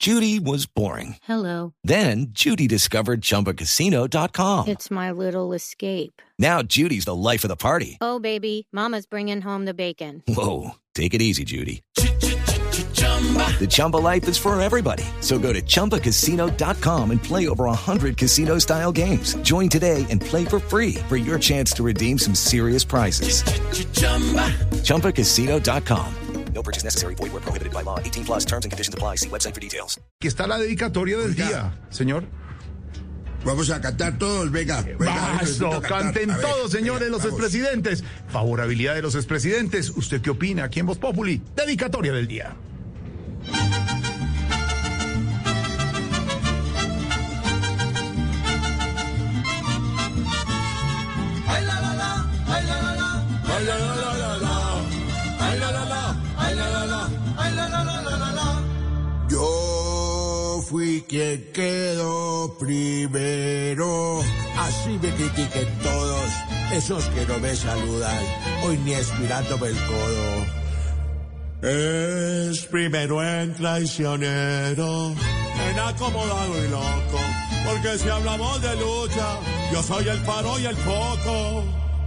Judy was boring. Hello. Then Judy discovered ChumbaCasino.com. It's my little escape. Now Judy's the life of the party. Oh, baby, mama's bringing home the bacon. Whoa, take it easy, Judy. The Chumba life is for everybody. So go to ChumbaCasino.com and play over 100 casino-style games. Join today and play for free for your chance to redeem some serious prizes. ChumbaCasino.com. No purchase necessary. Void where prohibited by law. 18 plus terms and conditions apply. See website for details. Aquí está la dedicatoria del día, señor. Vamos a cantar todos, venga. Eso, canten todos, señores, los expresidentes. Favorabilidad de los expresidentes. ¿Usted qué opina aquí en Voz Populi? Dedicatoria del día. Ay la la la, ay la la la, ay la la la la la, ay la la la, ay la la la, ay la la la la la. Yo fui quien quedó primero. Así me critiquen todos esos que no me saludan, hoy ni espirándome el codo. Es primero en traicionero, en acomodado y loco, porque si hablamos de lucha, yo soy el paro y el foco.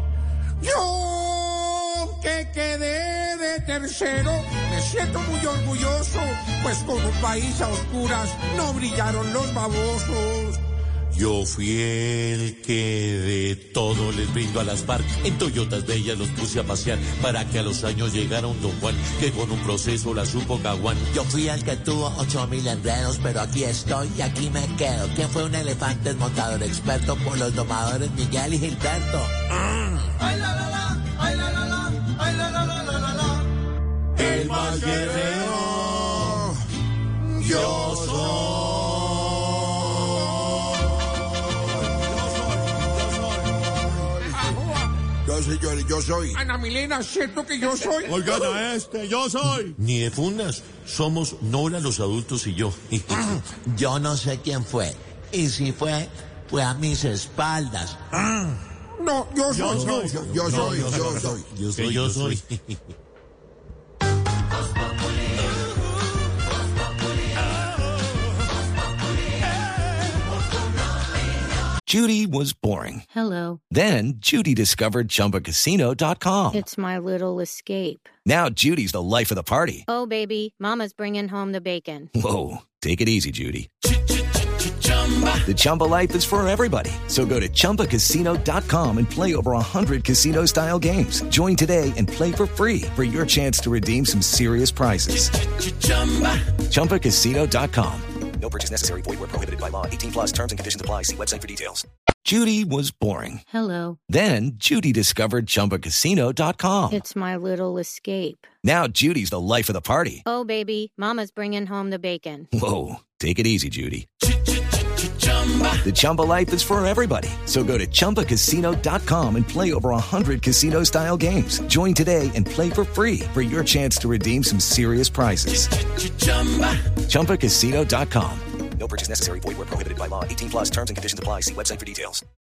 Yo, que quedé de tercero, me siento muy orgulloso, pues con un país a oscuras no brillaron los babosos. Yo fui el que de todo les brindo a las FARC. En Toyotas bellas los puse a pasear para que a los años llegara un Don Juan que con un proceso la supo caguán. Yo fui el que tuvo 8,000 enredos, pero aquí estoy y aquí me quedo. ¿Quién fue un elefante montador experto por los domadores Miguel y Gilberto? Ay la la la, ay la la la, ay la la la la la la. El más guerrero, yo soy. Yo soy. Ana Milena, ¿cierto que yo soy? Oigan a este, yo soy. Ni de fundas, somos Nora los adultos y yo. Yo no sé quién fue. Y si fue a mis espaldas. No, yo soy. Yo soy. Judy was boring. Hello. Then Judy discovered ChumbaCasino.com. It's my little escape. Now Judy's the life of the party. Oh, baby, mama's bringing home the bacon. Whoa, take it easy, Judy. The Chumba life is for everybody. So go to ChumbaCasino.com and play over 100 casino-style games. Join today and play for free for your chance to redeem some serious prizes. ChumbaCasino.com. No purchase necessary. Void where prohibited by law. 18 plus terms and conditions apply. See website for details. Judy was boring. Hello. Then Judy discovered ChumbaCasino.com. It's my little escape. Now Judy's the life of the party. Oh, baby, mama's bringing home the bacon. Whoa, take it easy, Judy. The Chumba life is for everybody. So go to ChumbaCasino.com and play over 100 casino-style games. Join today and play for free for your chance to redeem some serious prizes. ChumbaCasino.com. No purchase necessary. Void where prohibited by law. 18 plus terms and conditions apply. See website for details.